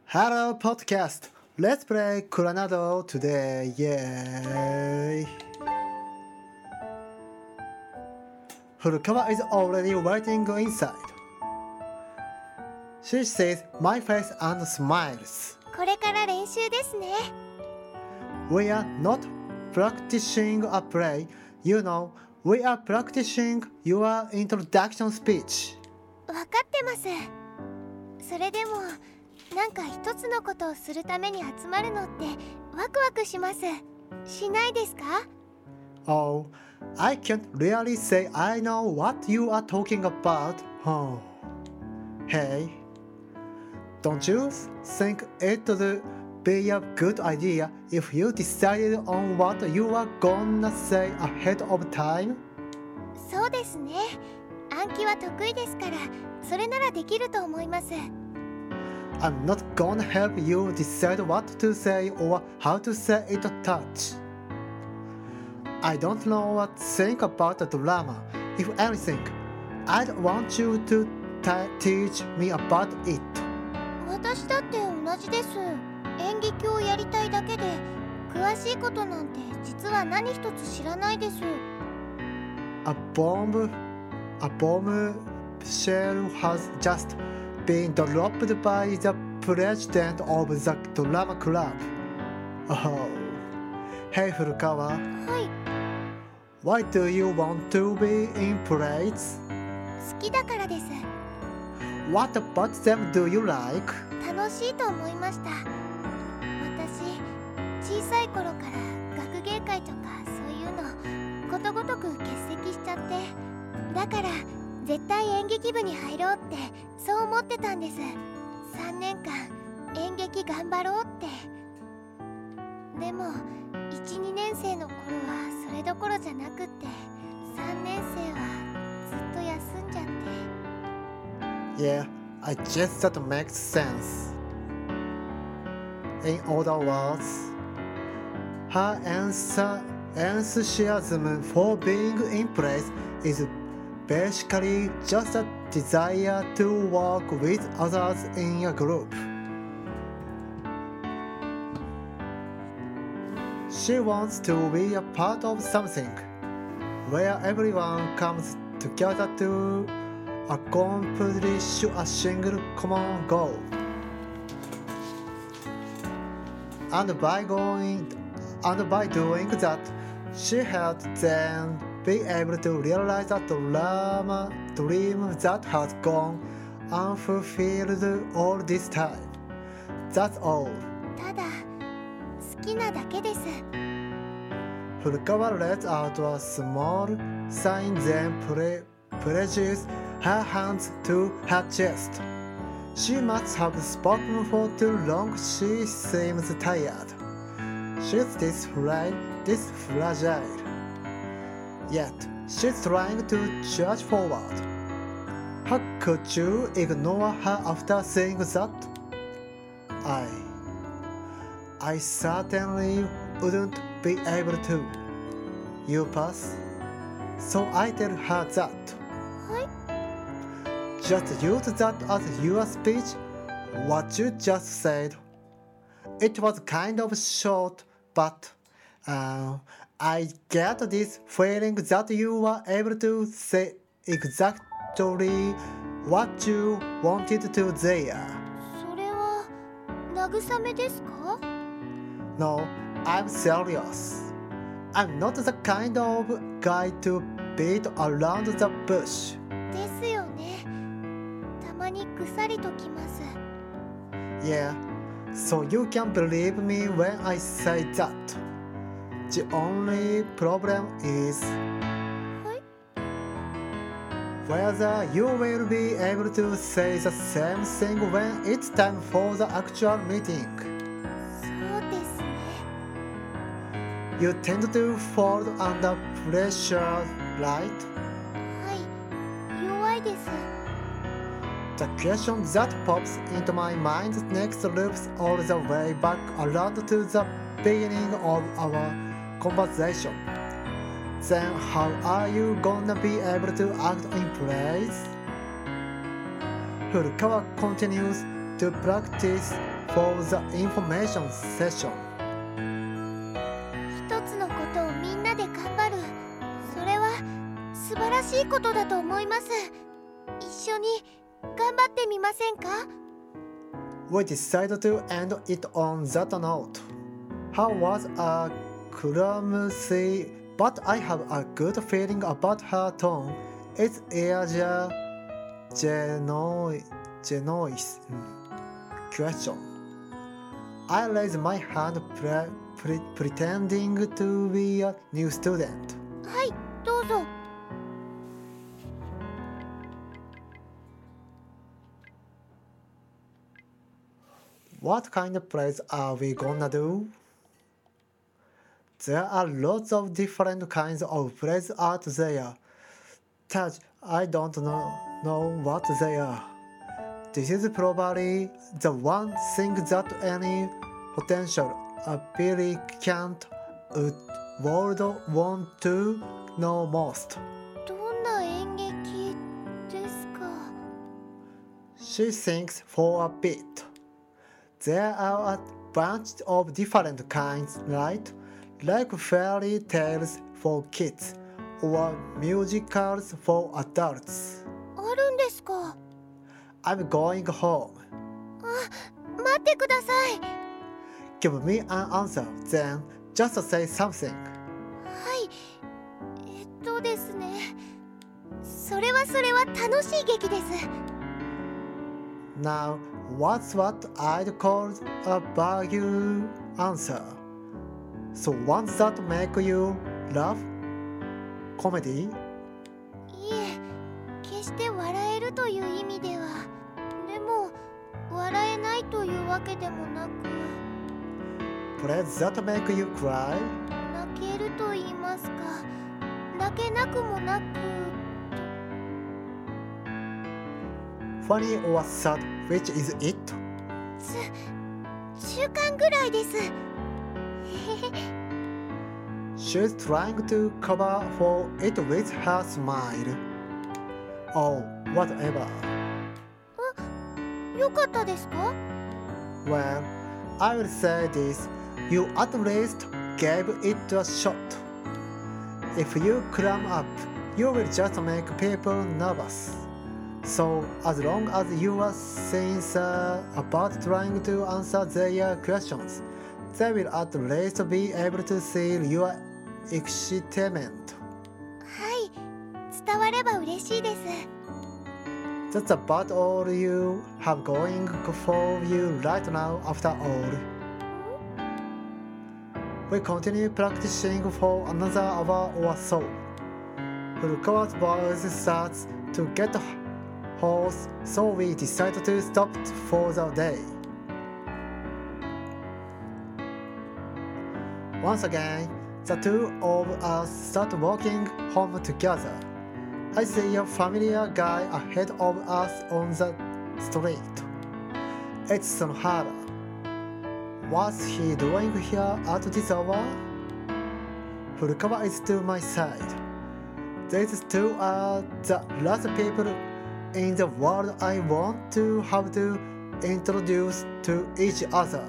Hello podcast. Let's play Coronado today. Yay! Furukawa is already waiting inside. She sees my face and smiles. これから練習ですね。 We are not practicing a play. You know, we are practicing your introduction speech. わかってます。それでもなんか一つのことをするために集まるのってワクワクします。しないですか？ Oh, I can't really say I know what you are talking about. Oh. Hey, don't you think it would be a good idea if you decided on what you are gonna say ahead of time? そうですね。暗記は得意ですから、それならできると思います。 I'm not gonna help you decide what to say or how to say it a touch. I don't know what to think about the drama. If anything, I'd want you to teach me about it. 私だって同じです。演劇をやりたいだけで、詳しいことなんて実は何一つ知らないです。 A bomb shell has just been dropped by the president of the drama club. Oh, hey Furukawa, はい、 why do you want to be in plays? 好きだからです。 What about them do you like? 楽しいと思いました。私、小さい頃から学芸会とかそういうのことごとく欠席しちゃって、だから絶対演劇部に入ろうってそう思ってたんです。3年間演劇頑張ろうって。でも 1,2 年生の頃はそれどころじゃなくって、3年生はずっと休んじゃって。 Yeah, I guess that makes sense. In other words, her enthusiasm for being in place is basically just a desire to work with others in a group. She wants to be a part of something where everyone comes together to accomplish a single common goal. And by doing that, she had then be able to realize a dream that has gone unfulfilled all this time. That's all. ただ好きなだけです。 Furukawa let out a small sign, then presses her hands to her chest. She must have spoken for too long. She seems tired. She's this fragile. Yet she's trying to charge forward. How could you ignore her after seeing that? I certainly wouldn't be able to. You pass. So I tell her that. はい、 Just use that as your speech. What you just said. It was kind of short, but I get this feeling that you were able to say exactly what you wanted to there. それは慰めですか？ No, I'm serious. I'm not the kind of guy to beat around the bush. ですよね。たまにぐさりときます。 Yeah, so you can believe me when I say that. The only problem is はい、 whether you will be able to say the same thing when it's time for the actual meeting. そうですね。 You tend to fall under pressure, right? はい、弱いです。 The question that pops into my mind next loops all the way back around to the beginning of our conversation. Then how are you gonna be able to act in place? Furukawa continues to practice for the information session. 一つのことをみんなで頑張る。それは素晴らしいことだと思います。一緒に頑張ってみませんか？ We decided to end it on that note. How was a clumsy, but I have a good feeling about her tone. It's genuine question. I raised my hand pretending to be a new student. はい、どうぞ。 What kind of plays are we gonna do? There are lots of different kinds of plays out there. Taj, I don't know what they are. This is probably the one thing that any potential applicant would want to know most. どんな演劇ですか？ She thinks for a bit. There are a bunch of different kinds, right? Like fairy tales for kids or musicals for adults. あるんですか？ I'm going home. 待ってください。 Give me an answer, then just say something. はい、ですね。それは楽しい劇です。 Now, what's what I'd call a vague answer? So ones that make you laugh? Comedy? いえ、決して笑えるという意味では。でも、笑えないというわけでもなく。 Plays that make you cry? 泣けると言いますか。泣けなくもなく。 Funny or sad, which is it? 中間ぐらいです。 She's trying to cover for it with her smile. Oh, whatever. よかったですか？ Well, I will say this. You at least gave it a shot. If you climb up, you will just make people nervous. So, as long as you are sincere about trying to answer their questions, they will at least be able to see your excitement. はい、伝われば嬉しいです。 That's about all you have going for you right now after all. We continue practicing for another hour or so. Furukawa's voice starts to get hoarse, so we decided to stop for the day. Once again, the two of us start walking home together. I see a familiar guy ahead of us on the street. It's Sonohara. What's he doing here at this hour? Furukawa is to my side. These two are the last people in the world I want to have to introduce to each other.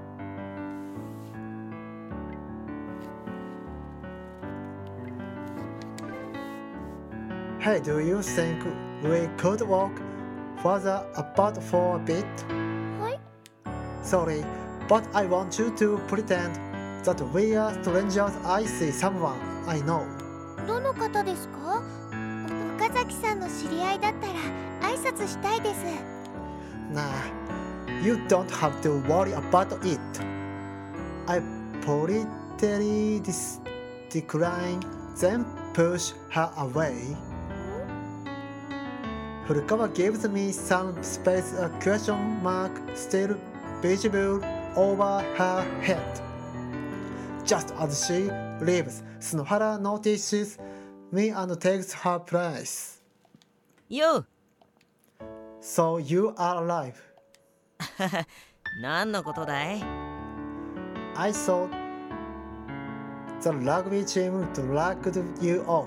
Hey, do you think we could walk further apart for a bit? はい。 Sorry, but I want you to pretend that we are strangers. I see someone I know. どの方ですか？岡崎さんの知り合いだったら挨拶したいです。 Nah, you don't have to worry about it. I politely decline, then push her away. Furukawa gives me some space, a question mark still visible over her head. Just as she leaves, Sonohara notices me and takes her place. Yo! So you are alive. 何のことだい？ I thought the rugby team dragged you off.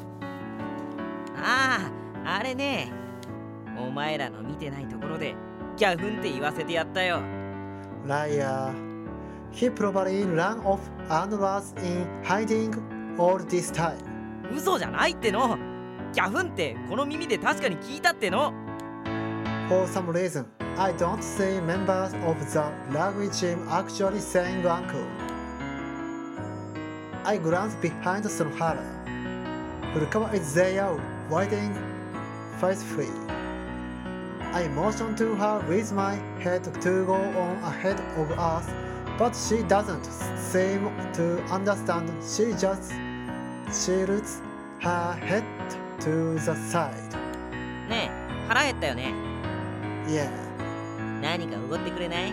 ああ、あれね。お前らの見てないところでギャフンって言わせてやったよ。 Liar. He probably ran off and was in hiding all this time. 嘘じゃないっての。ギャフンってこの耳で確かに聞いたっての。 For some reason, I don't see members of the language team actually saying uncle. I glance behind Sonohara. Furukawa is there, waiting faithfully. I motion to her with my head to go on ahead of us, but she doesn't seem to understand. She just tilts her head to the side. ねえ、腹減ったよね。 Yeah, 何かおごってくれない？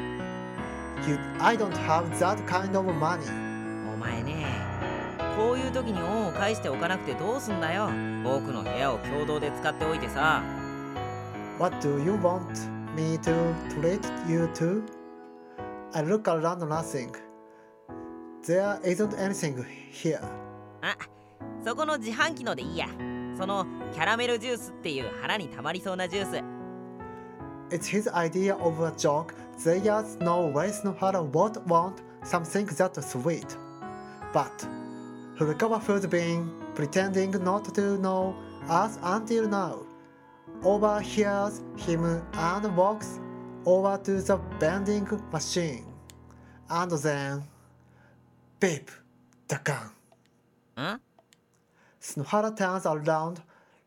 I don't have that kind of money. お前ね、こういう時に恩を返しておかなくてどうすんだよ。僕の部屋を共同で使っておいてさ。 What do you want me to treat you to? I look around nothing. There isn't anything here. あ、そこの自販機のでいいや。そのキャラメルジュースっていう腹にたまりそうなジュース。 It's his idea of a joke. There's no way Snohara would want something that sweet. But Furukawa who's been pretending not to know us until now overhears him and walks over to the vending machine. And then, beep, the gun. ん？ Snohara turns around,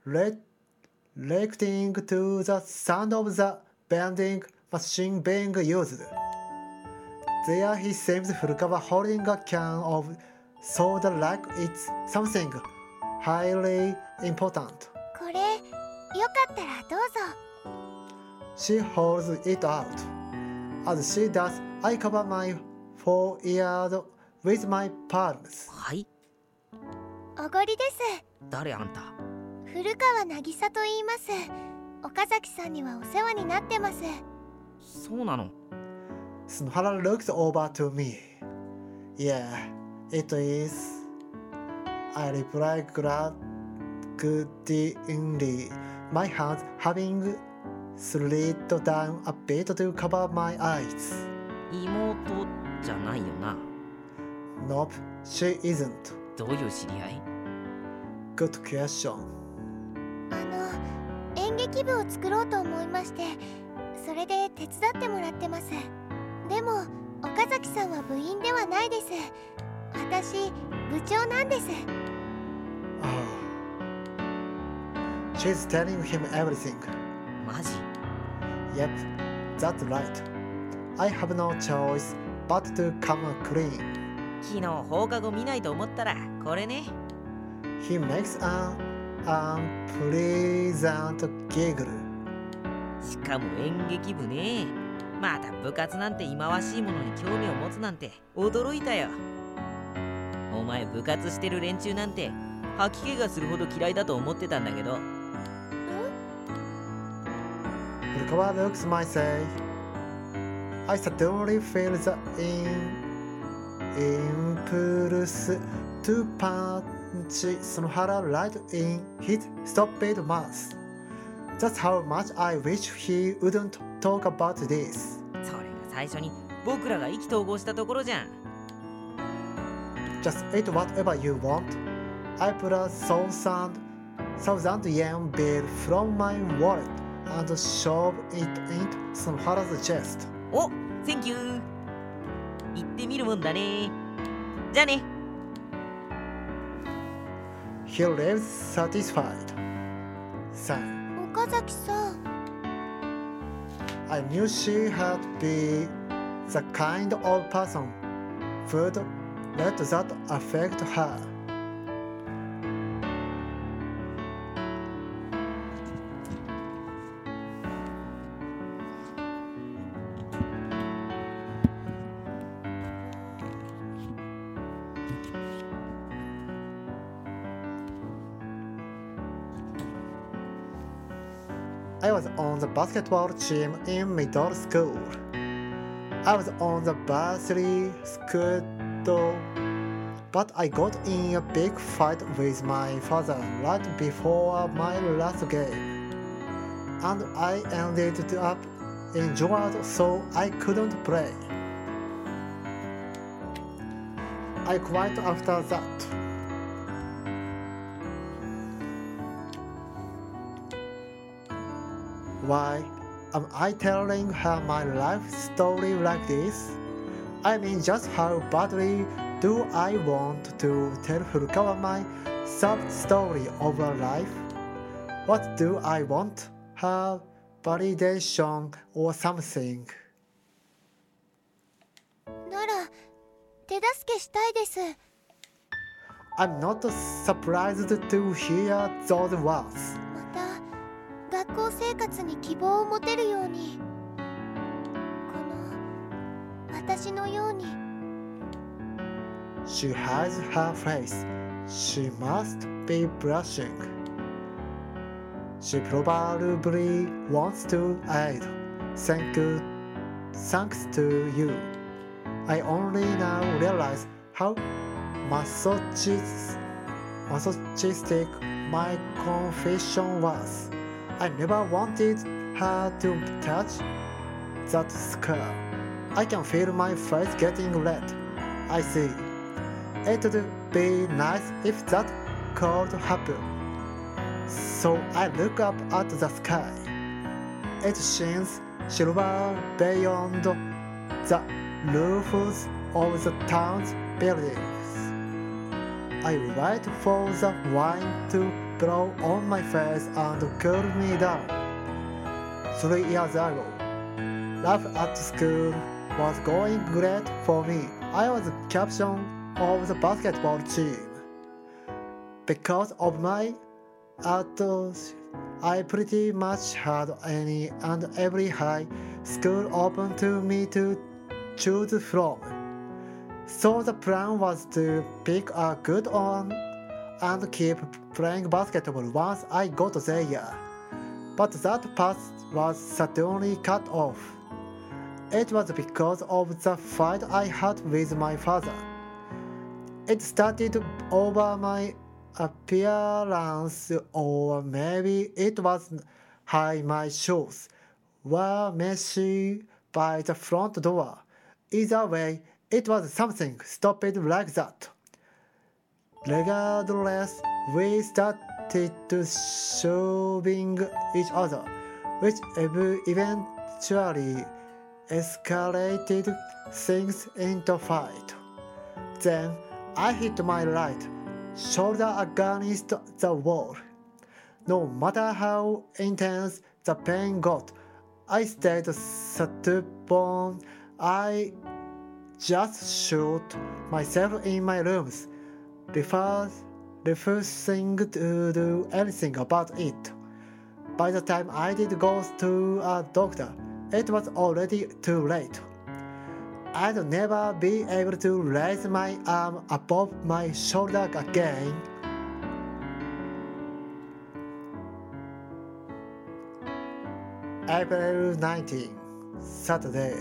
reacting to the sound of the vending machine being used. There he sees Furukawa holding a can of soda like it's something highly important. これよかったらどうぞ。 She holds it out. As she does, I cover my forehead with my palms. はい？ おごりです。 誰あんた？ 古川渚と言います。岡崎さんにはお世話になってます。 そうなの。 Snohara looks over to me. Yeah, it is. I reply grudgingly, my hands having slid down a bit to cover my eyes. 妹じゃないよな。 Nope, she isn't. どういう知り合い？ Good question. 演劇部を作ろうと思いまして、それで手伝ってもらってます。でも岡崎さんは部員ではないです。私部長なんです。 Oh. She's telling him everything. マジ？ Yep, that's right. I have no choice but to come clean. 昨日放課後見ないと思ったらこれね。 He makes an unpleasant giggle. しかも演劇部ね。また部活なんて忌まわしいものに興味を持つなんて驚いたよ。お前部活してる連中なんて吐き気がするほど嫌いだと思ってたんだけど。 Furukawa looks my say. I suddenly feel the impulse to punch Sonohara right in his stupid mouth. That's how much I wish he wouldn't talk about this. それが最初に僕らが意気投合したところじゃん。 Just eat whatever you want. I pull a thousand yen bill from my wallet and shove it into Sonohara's chest. お、センキュー。行ってみるもんだね。じゃあね。 He leaves satisfied. Sigh. 岡崎さん。 I knew she had been the kind of person who'd let that affect her. I was on the basketball team in middle school. I was on the varsity squad, but I got in a big fight with my father right before my last game, and I ended up injured, so I couldn't play. I quit after that. Why am I telling her my life story like this? I mean, just how badly do I want to tell Furukawa my sad story of her life? What do I want? Her validation or something? なら手助けしたいです。 I'm not surprised to hear those words. また学校生活に希望を持てるように、この私のように。 She hides her face. She must be blushing. She probably wants to aid. Thanks to you. I only now realize how masochistic my confession was. I never wanted her to touch that scar. I can feel my face getting red. I see. It'd be nice if that could happen. So I look up at the sky. It shines silver beyond the roofs of the town's buildings. I wait for the wind to blow on my face and cool me down. 3 years ago, life at school was going great for me. I was captain of the basketball team. Because of my attitude, I pretty much had any and every high school open to me to choose from. So the plan was to pick a good one and keep playing basketball once I got there. But that path was suddenly cut off. It was because of the fight I had with my father. It started over my appearance, or maybe it was how my shoes were messy by the front door. Either way, it was something stupid like that. Regardless, we started shoving each other, which eventually escalated things into fight. Then I hit my right shoulder against the wall. No matter how intense the pain got, I stayed stubborn. I just shot myself in my rooms, refusing to do anything about it. By the time I did go to a doctor, it was already too late. I'd never be able to raise my arm above my shoulder again. April 19, Saturday.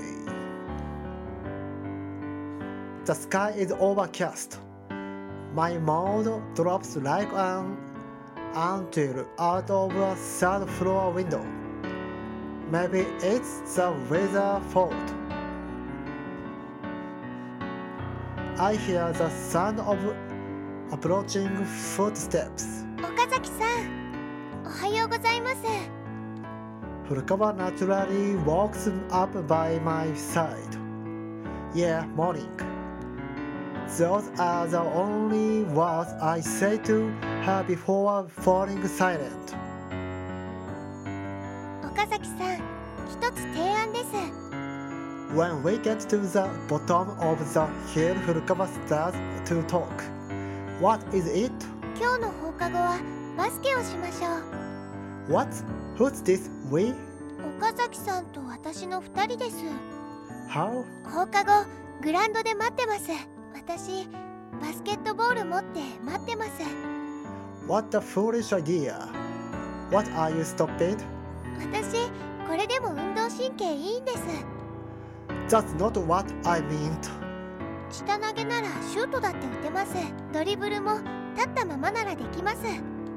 The sky is overcast. My mood drops like an anthill out of a third floor window. Maybe it's the weather's fault. I hear the sound of approaching footsteps. 岡崎さん、おはようございます。 Furukawa naturally walks up by my side. Yeah, morning. Those are the only words I say to her before falling silent. 岡崎さん、一つ提案です。 When we get to the bottom of the hill, Furukawa starts to talk. What is it? 今日の放課後はバスケをしましょう。 What? Who's this we? 岡崎さんと私の2人です。 How? 放課後、グラウンドで待ってます。私、バスケットボール持って待ってます。 What a foolish idea. What are you stupid? 私、これでも運動神経いいんです。 That's not what I meant. 下投げならシュートだって打てます。ドリブルも立ったままならできます。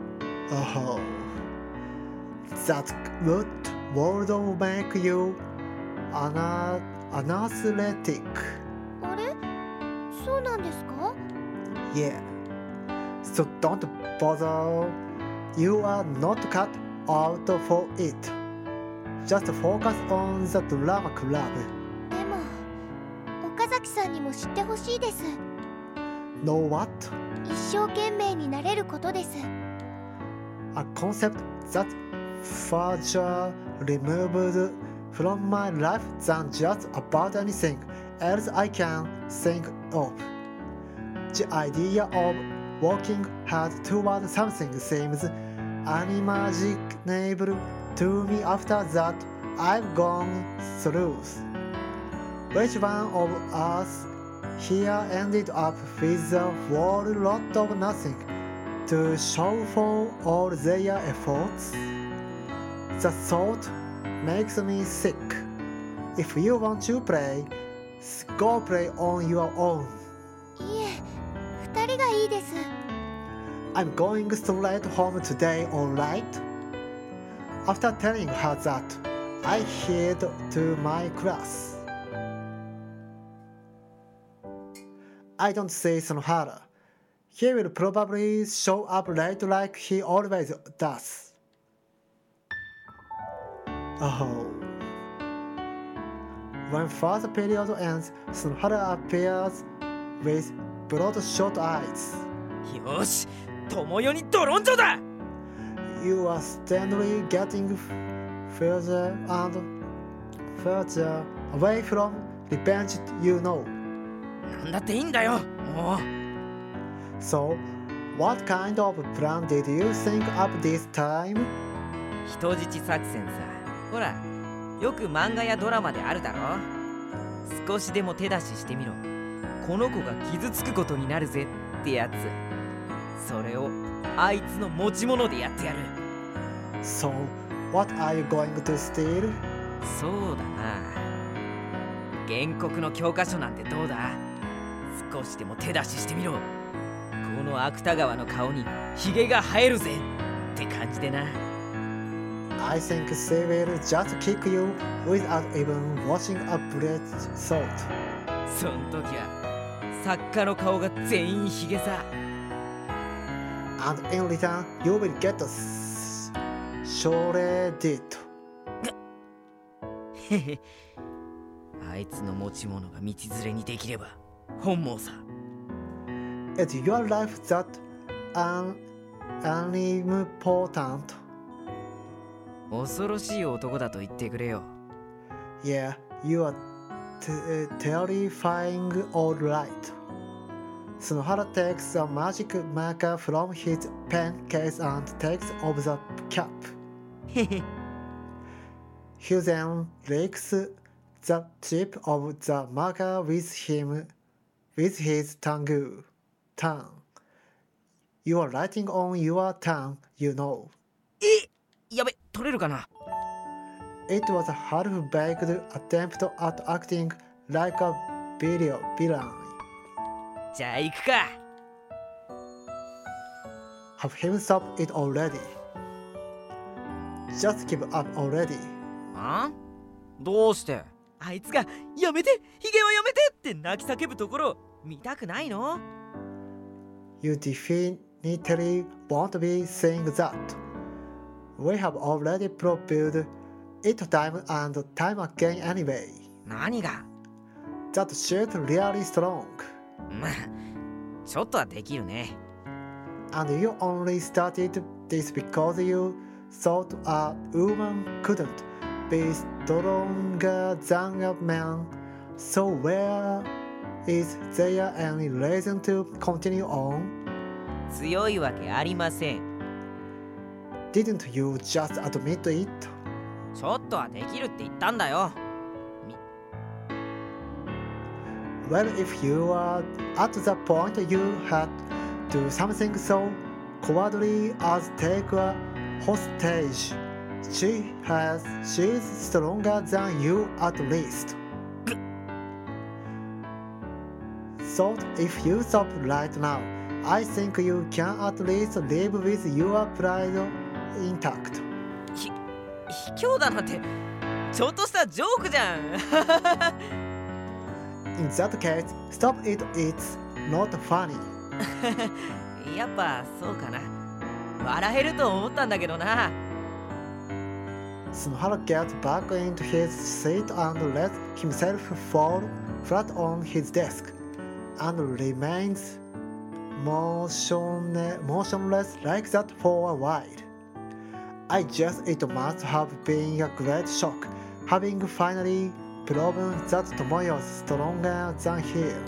Oh, that would make you athletic. あれ、そうなんですか？ Yeah. So don't bother. You are not cut out for it. Just focus on the drama club. でも岡崎さんにも知ってほしいです。 Know what? 一生懸命になれることです。 A concept that further removed from my life than just about anything else I can think of. The idea of working hard toward something seems unimaginable to me after that I've gone through. Which one of us here ended up with a whole lot of nothing to show for all their efforts? The thought makes me sick. If you want to play, go play on your own. いえ、二人がいいです。 I'm going straight home today, alright? After telling her that, I head to my class. I don't see Sonohara. He will probably show up late like he always does. Oh. When first period ends, Sonohara appears with bloodshot eyes. よし、友よにドロンジョだ。 You are steadily getting further and further away from revenge, you know. なんだっていいんだよ、もう。 So, what kind of plan did you think up this time? 人質作戦さ。ほら、よく漫画やドラマであるだろ。少しでも手出ししてみろ。この子が傷つくことになるぜってやつ。それをあいつの持ち物でやってやる。 So, what are you going to steal? そうだな。原告の教科書なんてどうだ？少しでも手出ししてみろ。この芥川の顔にヒゲが生えるぜって感じでな。 I think they will just kick you without even watching a bullet thought. そん時は作家の顔が全員ヒゲさ。 And in return, you will get shredded. へへ。あいつの持ち物が道連れにできれば本望さ。 It's your life that unimportant. 恐ろしい男だと言ってくれよ。 Yeah, you are terrifying, all right. Sonohara takes a magic marker from his pen case and takes off the cap. へへ。 He then licks the tip of the marker with his tongue. You are writing on your tongue, you know. やべ、取れるかな。 It was a half-baked attempt at acting like a villain. じゃあ行くか。 Have him stop it already. Just give up already. あ？どうして？あいつがやめて、ヒゲはやめてって泣き叫ぶところ見たくないの？ You definitely won't be saying that. We have already proved it time and time again anyway. 何が？ That shit really strong. まあ、ちょっとはできるね。 And you only started this because you thought a woman couldn't be stronger than a man. So where is there any reason to continue on? 強いわけありません。 Didn't you just admit it? ちょっとはできるって言ったんだよ。 Well, if you are at the point you had to do something so cowardly as take a hostage, she's stronger than you at least. So if you stop right now, I think you can at least live with your pride intact. 卑怯だなんてちょっとしたジョークじゃん。 In that case, stop it, it's not funny. やっぱそうかな。笑えると思ったんだけどな。 Snohara gets back into his seat and lets himself fall flat on his desk and remains motionless like that for a while. I guess it must have been a great shock, having finally proven that Tomoyo's stronger than him.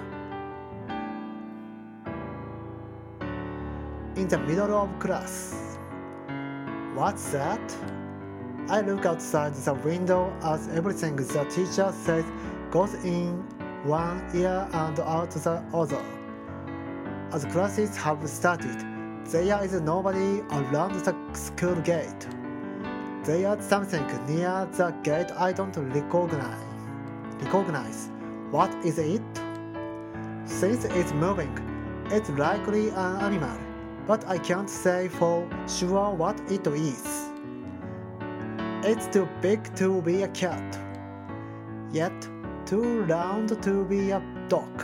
In the middle of class. What's that? I look outside the window as everything the teacher says goes in one ear and out the other. As classes have started, there is nobody around the school gate. There's something near the gate I don't recognize. What is it? Since it's moving, it's likely an animal, but I can't say for sure what it is. It's too big to be a cat, yet too round to be a dog.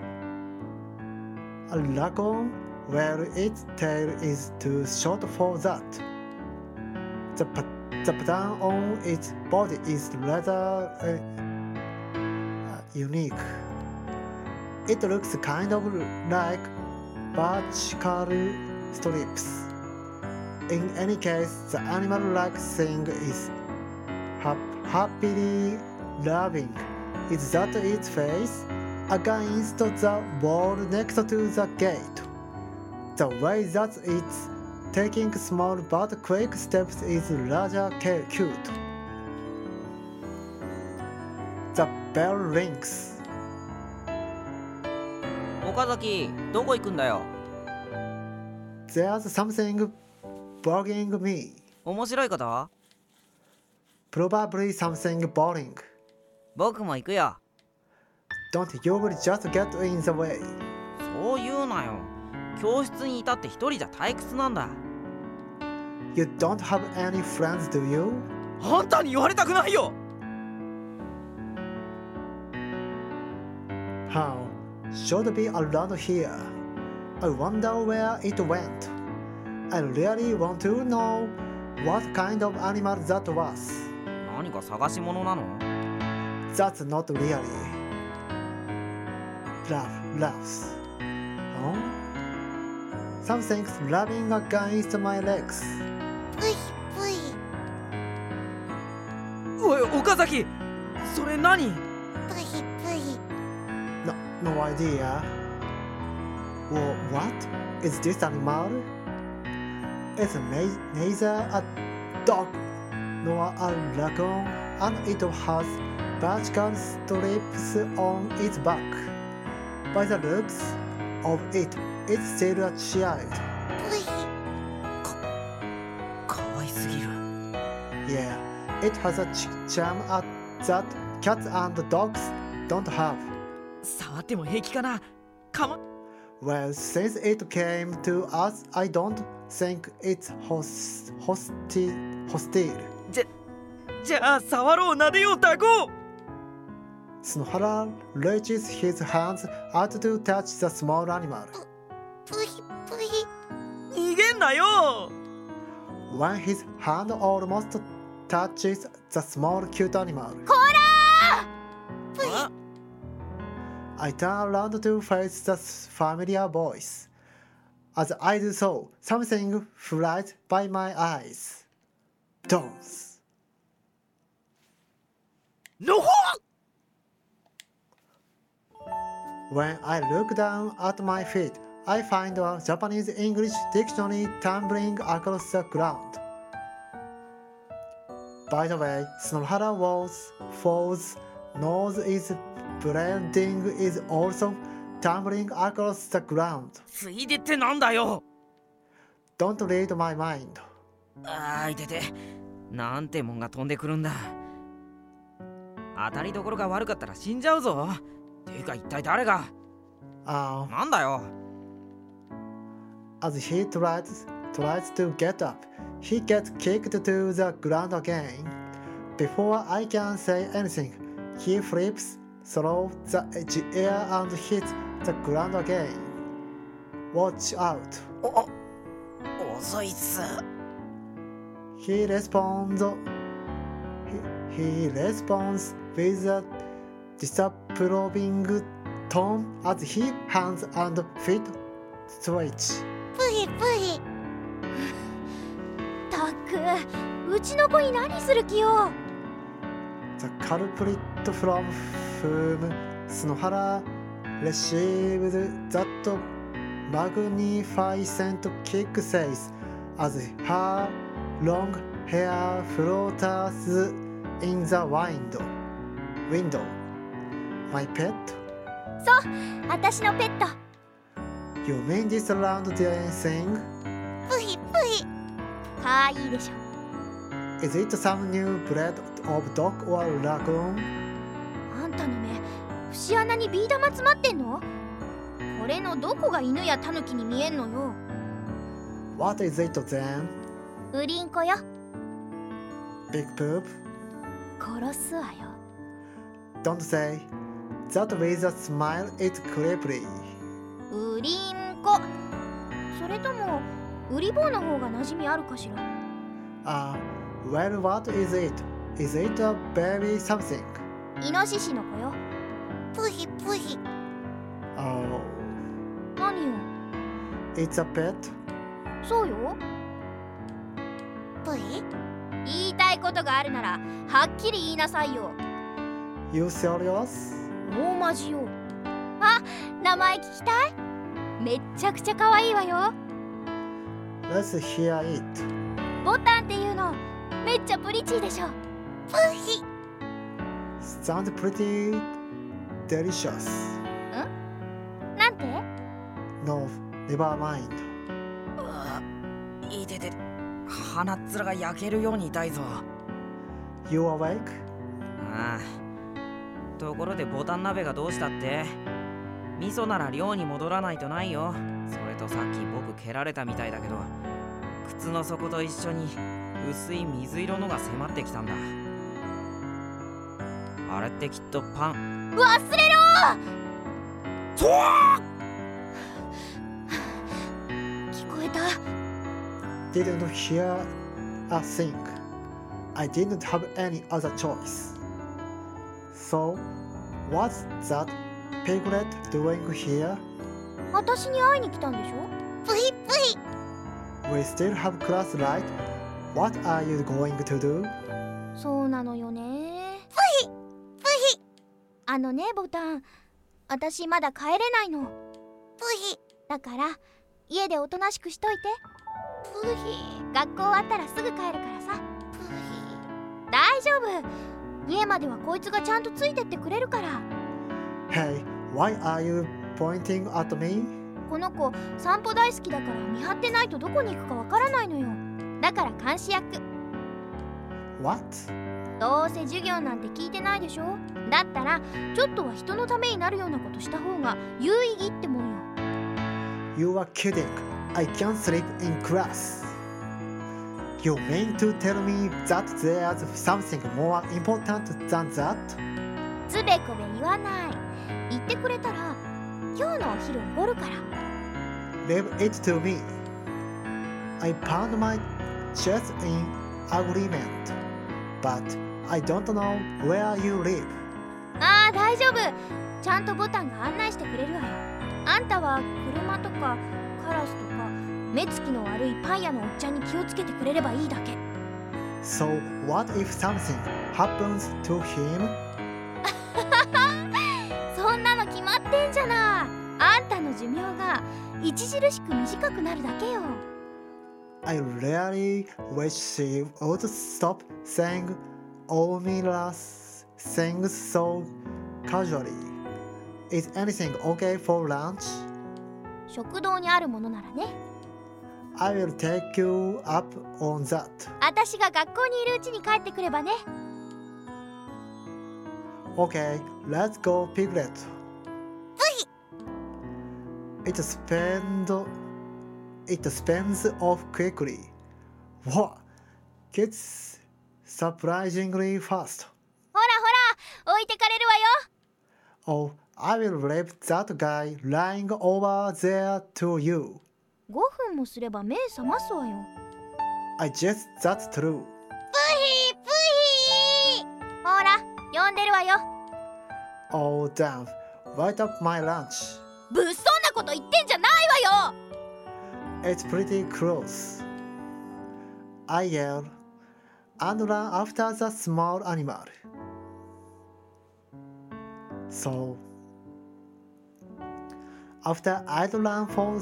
A raccoon, well, its tail is too short for that. The pattern on its body is rather unique. It looks kind of like vertical strips. In any case, the animal-like thing is happily laughing. Is that its face? Against the wall next to the gate. The way that it's taking small but quick steps is rather cute. The bell rings. 岡崎、どこ行くんだよ。 There's something bugging me. 面白いこと？ Probably something boring. 僕も行くよ。 Don't you will just get in the way. そう言うなよ。教室にいたって一人じゃ退屈なんだ。 You don't have any friends, do you? あんたに言われたくないよ。 How? Should be around here. I wonder where it went. I really want to know what kind of animal that was. 何か探し物なの？ That's not really. Laughs. Huh? Something's rubbing against my legs. ぷいぷいおい、岡崎、それ何？ ぷいぷい No idea. Well, what? Is this animal? It's neither a dog nor a raccoon, and it has vertical strips on its back. By the looks of it, it's still a child. ぷいかわいすぎる。 Yeah, it has a charm that cats and dogs don't have. 触っても平気かな？かま。 Well, since it came to us, I don't think it's hostile. じゃあ触ろう、撫でよう、タコ。 Snohara reaches his hands out to touch the small animal. ぷいぷい逃げんなよ。 When his hand almost touches the small cute animal, あ、 I turn around to face the familiar voice. As I do so, something flies by my eyes. Dons. のほ。 When I look down at my feet, I find a Japanese English dictionary tumbling across the ground. By the way, Snohara Fall's nose is bleeding is also tumbling across the ground. ついでってなんだよ。 Don't read my mind. あーいてて、なんてもんが飛んでくるんだ。当たりどころが悪かったら死んじゃうぞ。ていうか一体誰が？なんだよ。 As he tries to get up, he gets kicked to the ground again. Before I can say anything, he flips through the air and hits the ground again. Watch out. 遅いっす。 He responds with a disapproving tone as his hands and feet twitch. プヒプヒ。たく、うちの子に何する気よ。 The culprit from whom Snohara received that magnificent kick says as her long hair floats in the window. My pet? そう、私のペット。 You mean this round dancing? プヒプヒ。かわいいでしょ。 Is it some new breed of dog or lagoon? あんたの目、節穴にビー玉詰まってんの？これのどこが犬やタヌキに見えんのよ。 What is it then? ウリンコよ。 Big poop? 殺すわよ。 Don't say that with a smile. It's creepy. ウリンコ。それともウリ坊の方が馴染みあるかしら。 Well, what is it? Is it a baby something? イノシシの子よ。プヒプヒ。 Oh, 何よ。 it's a pet? そうよ。プヒ。言いたいことがあるならはっきり言いなさいよ。 You serious? 大マジよ。あ、名前聞きたい？めっちゃくちゃ可愛いわよ。 Let's hear it. ボタンっていうのめっちゃプリチーでしょ。プヒ。 Sounds pretty delicious. なんて？ No, never mind. いてて、鼻っ面が焼けるように痛いぞ。 You awake? ああ。ところでボタン鍋がどうしたって？味噌なら寮に戻らないとないよ。それとさっき僕蹴られたみたいだけど、靴の底と一緒に薄い水色のが迫ってきたんだ。あれってきっとパン。 忘れろー！聞こえた。 Didn't hear a thing. I didn't have any other choice. So, what's that piglet doing here? 私に会いに来たんでしょ？プヒプヒ。 We still have class, right? What are you going to do? そうなのよね。プヒプヒ。ボタン、私まだ帰れないの。プヒ。だから家でおとなしくしといて。プヒ。学校終わったらすぐ帰るからさ。プヒ。大丈夫。家まではこいつがちゃんとついてってくれるから。 Hey, why are you pointing at me? この子散歩大好きだから見張ってないとどこに行くかわからないのよ。だから監視役。 What? どうせ授業なんて聞いてないでしょ。だったらちょっとは人のためになるようなことした方が有意義ってもんよ。 You are kidding. I can't sleep in class. You mean to tell me that there's something more important than that? つべこべ言わない。言ってくれたら今日のお昼おごるから。 Leave it to me. I pound my chest in agreement, but I don't know where you live. ああ大丈夫。ちゃんとボタンが案内してくれるわよ。あんたは車とかカラスとか目つきの悪いパン屋のおっちゃんに気をつけてくれればいいだけ。 So what if something happens to him? そんなの決まってんじゃない。あんたの寿命が著しく短くなるだけよ。 I really wish she would stop saying ominous things so casually. Is anything okay for lunch? 食堂にあるものならね。 I will take you up on that. 私が学校にいるうちに帰ってくればね。 Okay, let's go, Piglet. It spins off quickly. What? Gets surprisingly fast. ほらほら、置いてかれるわよ。 Oh, I will leave that guy lying over there to you. 5分もすれば目覚ますわよ。 I guess that's true. プヒプヒほら、呼んでるわよ。 Oh, damn. Right up my lunch. 物騒なこと言ってんじゃないわよ。 It's pretty close. I yell and run after the small animal. So, after I'd run for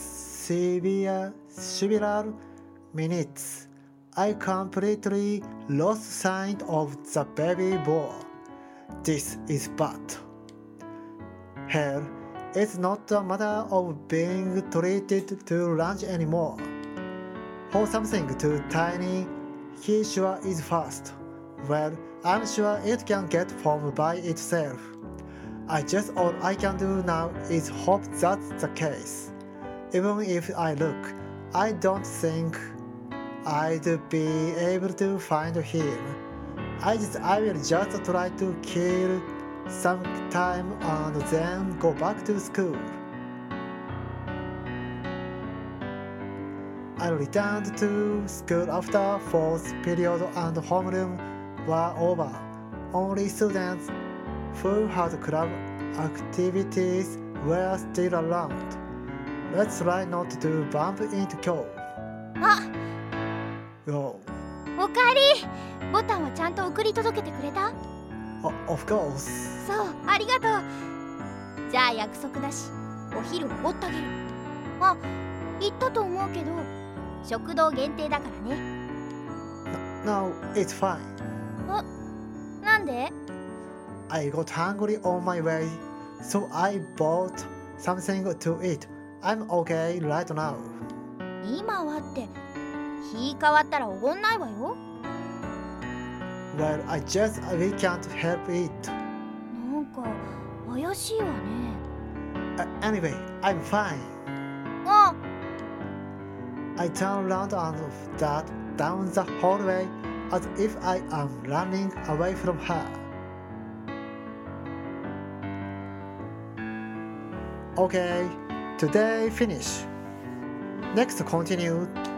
several minutes, I completely lost sight of the baby boy. This is bad. Hell, it's not a matter of being treated to lunch anymore. For something too tiny, he sure is fast. Well, I'm sure it can get home by itself. All I can do now is hope that's the case. Even if I look, I don't think I'd be able to find him. I will just try to kill some time and then go back to school. I returned to school after fourth period and homeroom were over. Only students who had club activities were still around. Let's try not to bump into Kyo. あ、 Yo. おかえり。ボタンはちゃんと送り届けてくれた？ Of course. そう、ありがとう。じゃあ約束だし、お昼おごってあげる。あ、言ったと思うけど、食堂限定だからね。 No, it's fine. なんで？ I got hungry on my way, so I bought something to eat. I'm okay right now. 今はって、日変わったらおごんないわよ。 Well, we can't help it. なんか怪しいわね。 Anyway, I'm fine. あ、 I turn around and dart down the hallway as if I am running away from her. Okay, today finish. Next continue